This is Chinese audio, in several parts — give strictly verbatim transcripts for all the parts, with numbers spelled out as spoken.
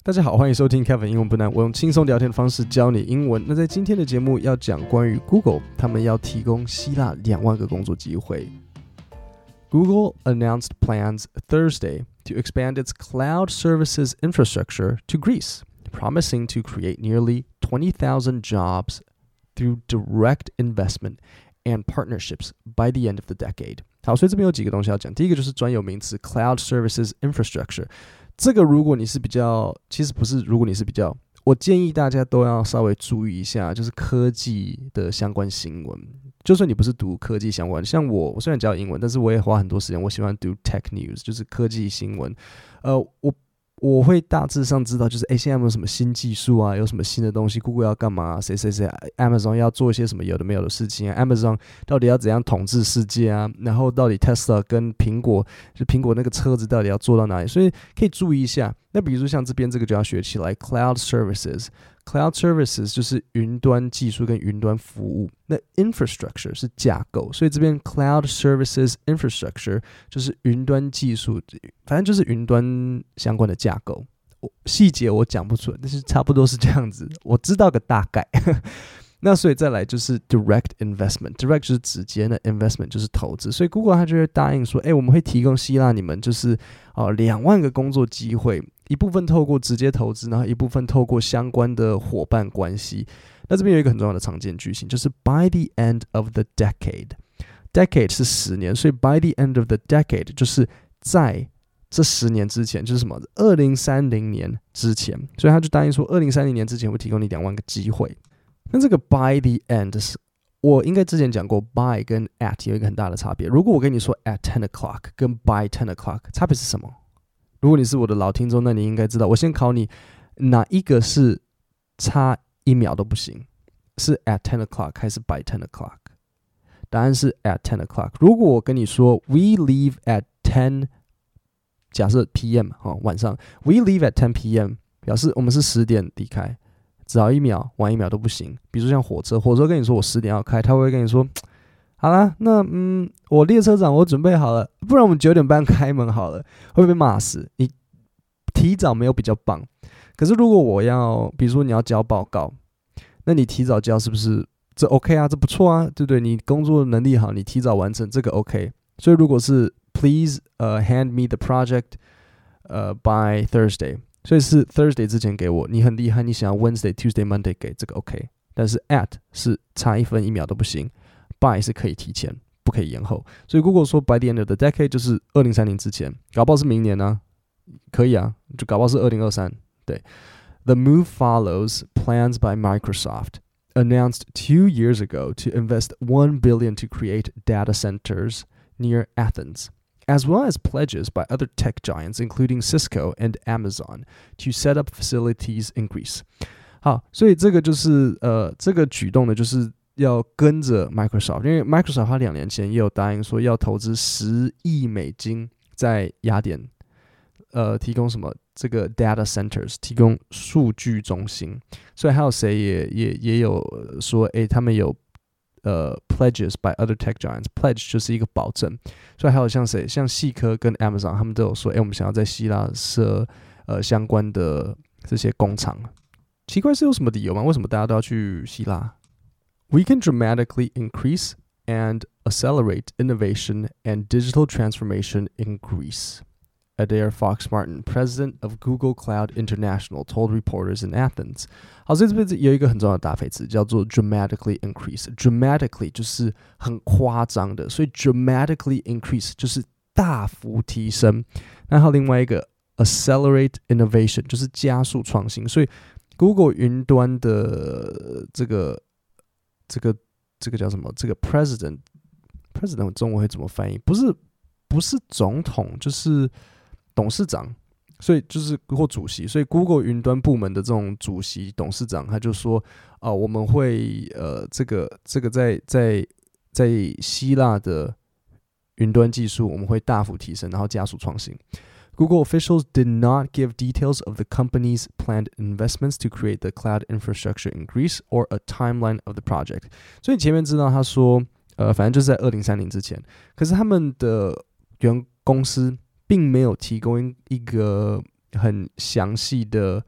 大家好，歡迎收聽 Kevin 英文不難，我用輕鬆聊天的方式教你英文。那在今天的節目要講關於 Google， 他們要提供希臘兩萬個工作機會。Google announced plans Thursday to expand its cloud services infrastructure to Greece, promising to create nearly twenty thousand jobs through direct investment and partnerships by the end of the decade. 好，所以這邊有幾個東西要講。第一個就是專有名詞 Cloud Services Infrastructure。這個如果你是比較，其實不是，如果你是比較，我建議大家都要稍微注意一下，就是科技的相關新聞。就算你不是讀科技相關，像我，我雖然教英文，但是我也花很多時間，我喜歡讀 Tech News， 就是科技新聞。呃，我我會大致上知道，就是哎，現在有沒有什麼新技術啊？有什麼新的東西 ？Google 要幹嘛？誰誰誰 ？Amazon 要做一些什麼有的沒有的事情啊 ？Amazon 到底要怎樣統治世界啊？然後到底 Tesla 跟蘋果，就蘋果那個車子到底要做到哪裡？所以可以注意一下。那比如說像這邊這個就要學起來 ，Cloud Services。Cloud Services 就是雲端技術跟雲端服務，那 Infrastructure 是架構，所以這邊 Cloud Services Infrastructure 就是雲端技術，反正就是雲端相關的架構。細節我講不出來，但是差不多是這樣子，我知道個大概。那所以再來就是 Direct Investment，Direct 就是直接的 Investment 就是投資，所以 Google 它就會答應說，哎，我們會提供希臘你們就是哦兩萬個工作機會。一部分透過直接投資，然後一部分透過相關的夥伴關係。那這邊有一個很重要的常見句型，就是 by the end of the decade。decade 是十年，所以 by the end of the decade 就是在這十年之前，就是什麼二零三零年之前。所以他就答應說，二零三零年之前會提供你兩萬個機會。那這個 by the end 是我應該之前講過 by 跟 at 有一個很大的差別。如果我跟你說 at ten o'clock 跟 by ten o'clock 差別是什麼？如果你是我的老聽眾，那你應該知道。我先考你，哪一個是差一秒都不行？是 at ten o'clock 還是 by ten o'clock？ 答案是 at ten o'clock。如果我跟你說 we leave at ten， 假設 P M 哈、哦、晚上 we leave at ten P M 表示我們是十點離開，早一秒晚一秒都不行。比如說像火車，火車跟你說我十點要開，他會跟你說。好啦，那嗯，我列車長，我準備好了，不然我們九點半開門好了，會不會被罵死？你提早沒有比較棒，可是如果我要，比如說你要交報告，那你提早交是不是這 OK 啊？這不錯啊，對不對？你工作能力好，你提早完成這個 OK。所以如果是 Please 呃、uh, hand me the project 呃、uh, by Thursday， 所以是 Thursday 之前給我，你很厲害，你想要 Wednesday、Tuesday、Monday 給這個 OK， 但是 at 是差一分一秒都不行。by 是可以提前，不可以延後。所以 Google 說 by the end of the decade 就是二零三零之前，搞不好是明年啊，可以啊，就搞不好是二零二三。對 ，The move follows plans by Microsoft announced two years ago to invest one billion to create data centers near Athens, as well as pledges by other tech giants, including Cisco and Amazon, to set up facilities in Greece. 好，所以這個就是呃，這個舉動呢，就是要跟着 Microsoft， 因為 Microsoft 它兩年前也有答應說要投資十億美金在雅典，呃，提供什麼這個 data centers， 提供數據中心。所以還有誰也也也有說，誒，他們有呃 pledges by other tech giants，pledge 就是一個保證。所以還有像誰，像矽科跟 Amazon， 他們都有說，誒，我們想要在希臘設呃相關的這些工廠。奇怪是有什麼理由嗎？為什麼大家都要去希臘？We can dramatically increase and accelerate innovation and digital transformation in Greece, Adair Fox-Martin, president of Google Cloud International, told reporters in Athens. 好，所以這邊有一個很重要的搭配詞，叫做 dramatically increase. Dramatically 就是很誇張的，所以 dramatically increase 就是大幅提升。那還有另外一個 accelerate innovation 就是加速創新。所以 Google 雲端的這個這個這個叫什麼？這個 president president 中文會怎麼翻譯？不是不是總統，就是董事長，所以就是或主席。所以 Google 雲端部門的這種主席、董事長，他就說啊、呃，我們會呃，這個這個在在在希臘的雲端技術，我們會大幅提升，然後加速創新。Google officials did not give details of the company's planned investments to create the cloud infrastructure in Greece or a timeline of the project. 所以前面知道他說，呃，反正就是在二零三零之前。可是他們的原公司並沒有提供一個很詳細的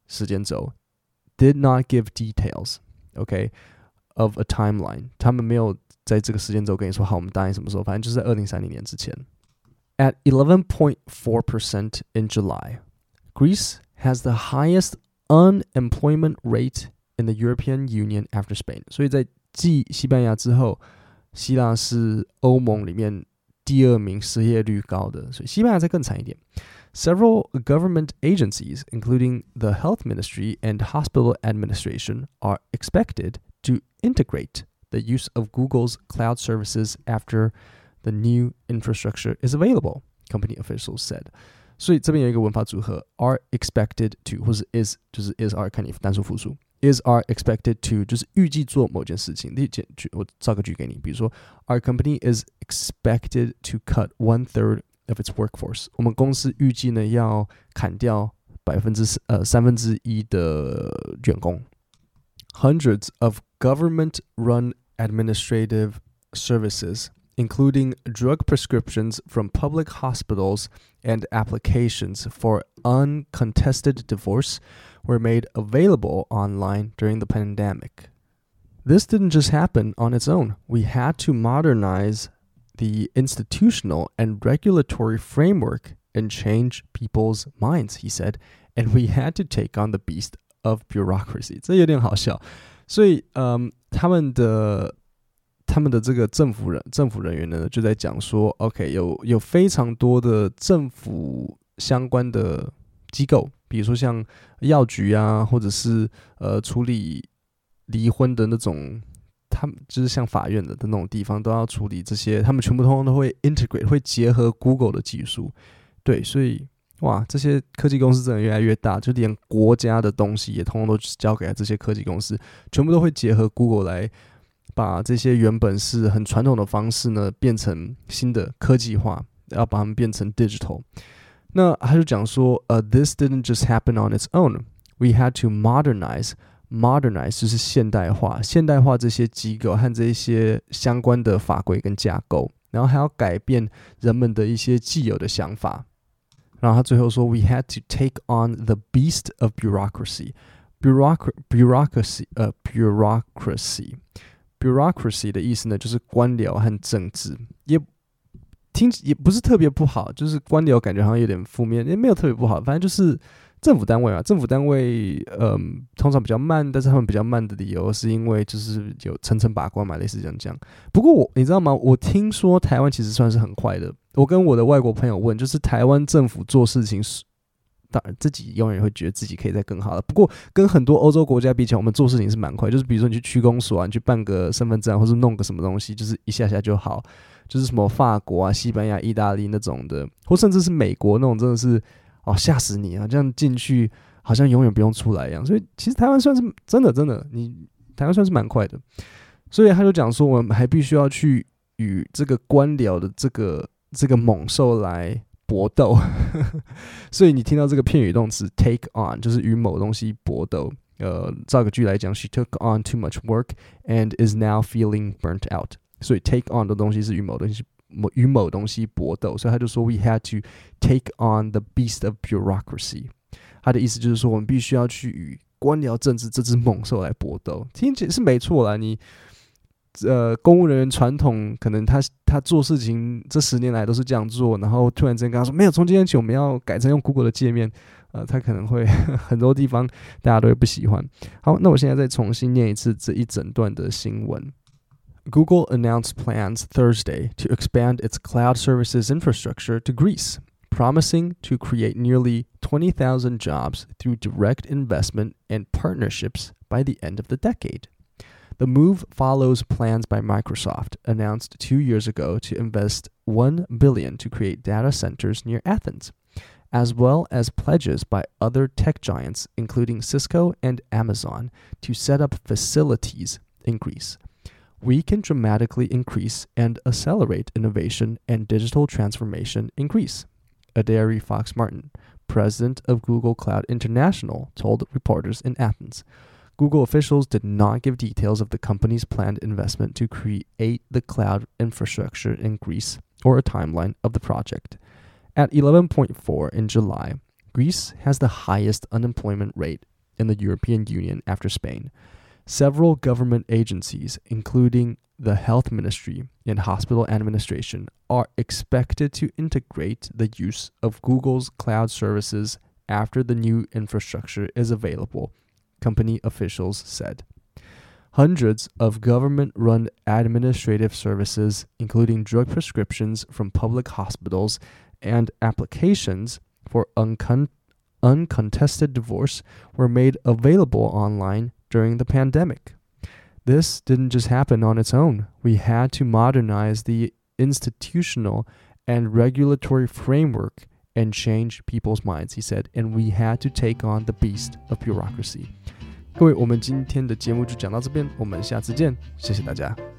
時間軸 did not give details, okay, of a timeline. 他們沒有在這個時間軸跟你說，好，我們答應什麼時候，反正就是在二零三零年之前。At eleven point four percent in July, Greece has the highest unemployment rate in the European Union after Spain. 所以在繼西班牙之後，希臘是歐盟裡面第二名失業率高的，所以西班牙再更慘一點。Several government agencies, including the Health Ministry and Hospital Administration, are expected to integrate the use of Google's cloud services after the new infrastructure is available, company officials said. 所以這邊有一個文法組合 are expected to 或是 is 就是 is are 看你單數複數 is are expected to 就是預計做某件事情。例如我造個句給你，比如說 Our company is expected to cut one third of its workforce. 我們公司預計呢要砍掉百分之呃三分之一的員工。Hundreds of government-run administrative services, including drug prescriptions from public hospitals and applications for uncontested divorce, were made available online during the pandemic. This didn't just happen on its own. We had to modernize the institutional and regulatory framework and change people's minds, he said, and we had to take on the beast of bureaucracy. 這有點好笑。所以，嗯，他們的他們的這個政府人政府人員呢，就在講說 ，OK， 有有非常多的政府相關的機構，比如說像藥局啊，或者是呃處理離婚的那種。他們就是像法院的的那種地方，都要處理這些，他們全部通通都會 integrate， 會結合 Google 的技術。對，所以哇，這些科技公司真的越來越大，就連國家的東西也通通都交給了這些科技公司，全部都會結合 Google 來把這些原本是很傳統的方式呢，變成新的科技化，要把它們變成 digital。那他就講說，呃、uh, ，this didn't just happen on its own. We had to modernize.Modernize 就是現代化，現代化這些機構和這些相關的法規跟架構，然後還要改變人們的一些既有的想法。然後他最後說 ，We had to take on the beast of bureaucracy. Bureaucracy, bureaucracy, 呃、uh, bureaucracy, bureaucracy 的意思呢，就是官僚和政治，也聽也不是特別不好，就是官僚感覺好像有點負面，也沒有特別不好，反正就是。政府單位啊，政府單位，嗯，通常比較慢，但是他們比較慢的理由是因為就是有層層把關嘛，類似這樣講。不過我，你知道嗎？我聽說台灣其實算是很快的。我跟我的外國朋友問，就是台灣政府做事情，當然自己永遠會覺得自己可以再更好了。不過，跟很多歐洲國家比起來，我們做事情是蠻快。就是比如說你去區公所啊，你去辦個身份證，或是弄個什麼東西，就是一下下就好。就是什麼法國啊、西班牙、意大利那種的，或甚至是美國那種，真的是。哦，嚇死你啊！這樣進去好像永遠不用出來一樣。所以其實台灣算是真的真的，你台灣算是蠻快的。所以他就講說，我們還必須要去與這個官僚的這個這個猛獸來搏鬥。所以你聽到這個片語動詞 take on， 就是與某東西搏鬥。呃，造個句來講 ，She took on too much work and is now feeling burnt out。所以 take on 的東西是與某東西。與某東西搏鬥，所以他就說 We had to take on the beast of bureaucracy。他的意思就是說，我們必須要去與官僚政治這隻猛獸來搏鬥。聽起來是沒錯啦，你呃，公務人員傳統可能他他做事情這十年來都是這樣做，然後突然之間跟他說沒有，從今天起我們要改成用 Google 的界面，呃，他可能會很多地方大家都會不喜歡。好，那我現在再重新念一次這一整段的新聞。Google announced plans Thursday to expand its cloud services infrastructure to Greece, promising to create nearly twenty thousand jobs through direct investment and partnerships by the end of the decade. The move follows plans by Microsoft, announced two years ago to invest one billion dollars to create data centers near Athens, as well as pledges by other tech giants, including Cisco and Amazon, to set up facilities in Greece.We can dramatically increase and accelerate innovation and digital transformation in Greece, Adaire Fox-Martin, president of Google Cloud International, told reporters in Athens. Google officials did not give details of the company's planned investment to create the cloud infrastructure in Greece or a timeline of the project. At eleven point four in July, Greece has the highest unemployment rate in the European Union after Spain. Several government agencies, including the Health Ministry and Hospital Administration, are expected to integrate the use of Google's cloud services after the new infrastructure is available, company officials said. Hundreds of government-run administrative services, including drug prescriptions from public hospitals and applications for uncon- uncontested divorce, were made available online during the pandemic. This didn't just happen on its own. We had to modernize the institutional and regulatory framework and change people's minds, he said, and we had to take on the beast of bureaucracy. 各位，我們今天的節目就講到這邊，我們下次見，謝謝大家。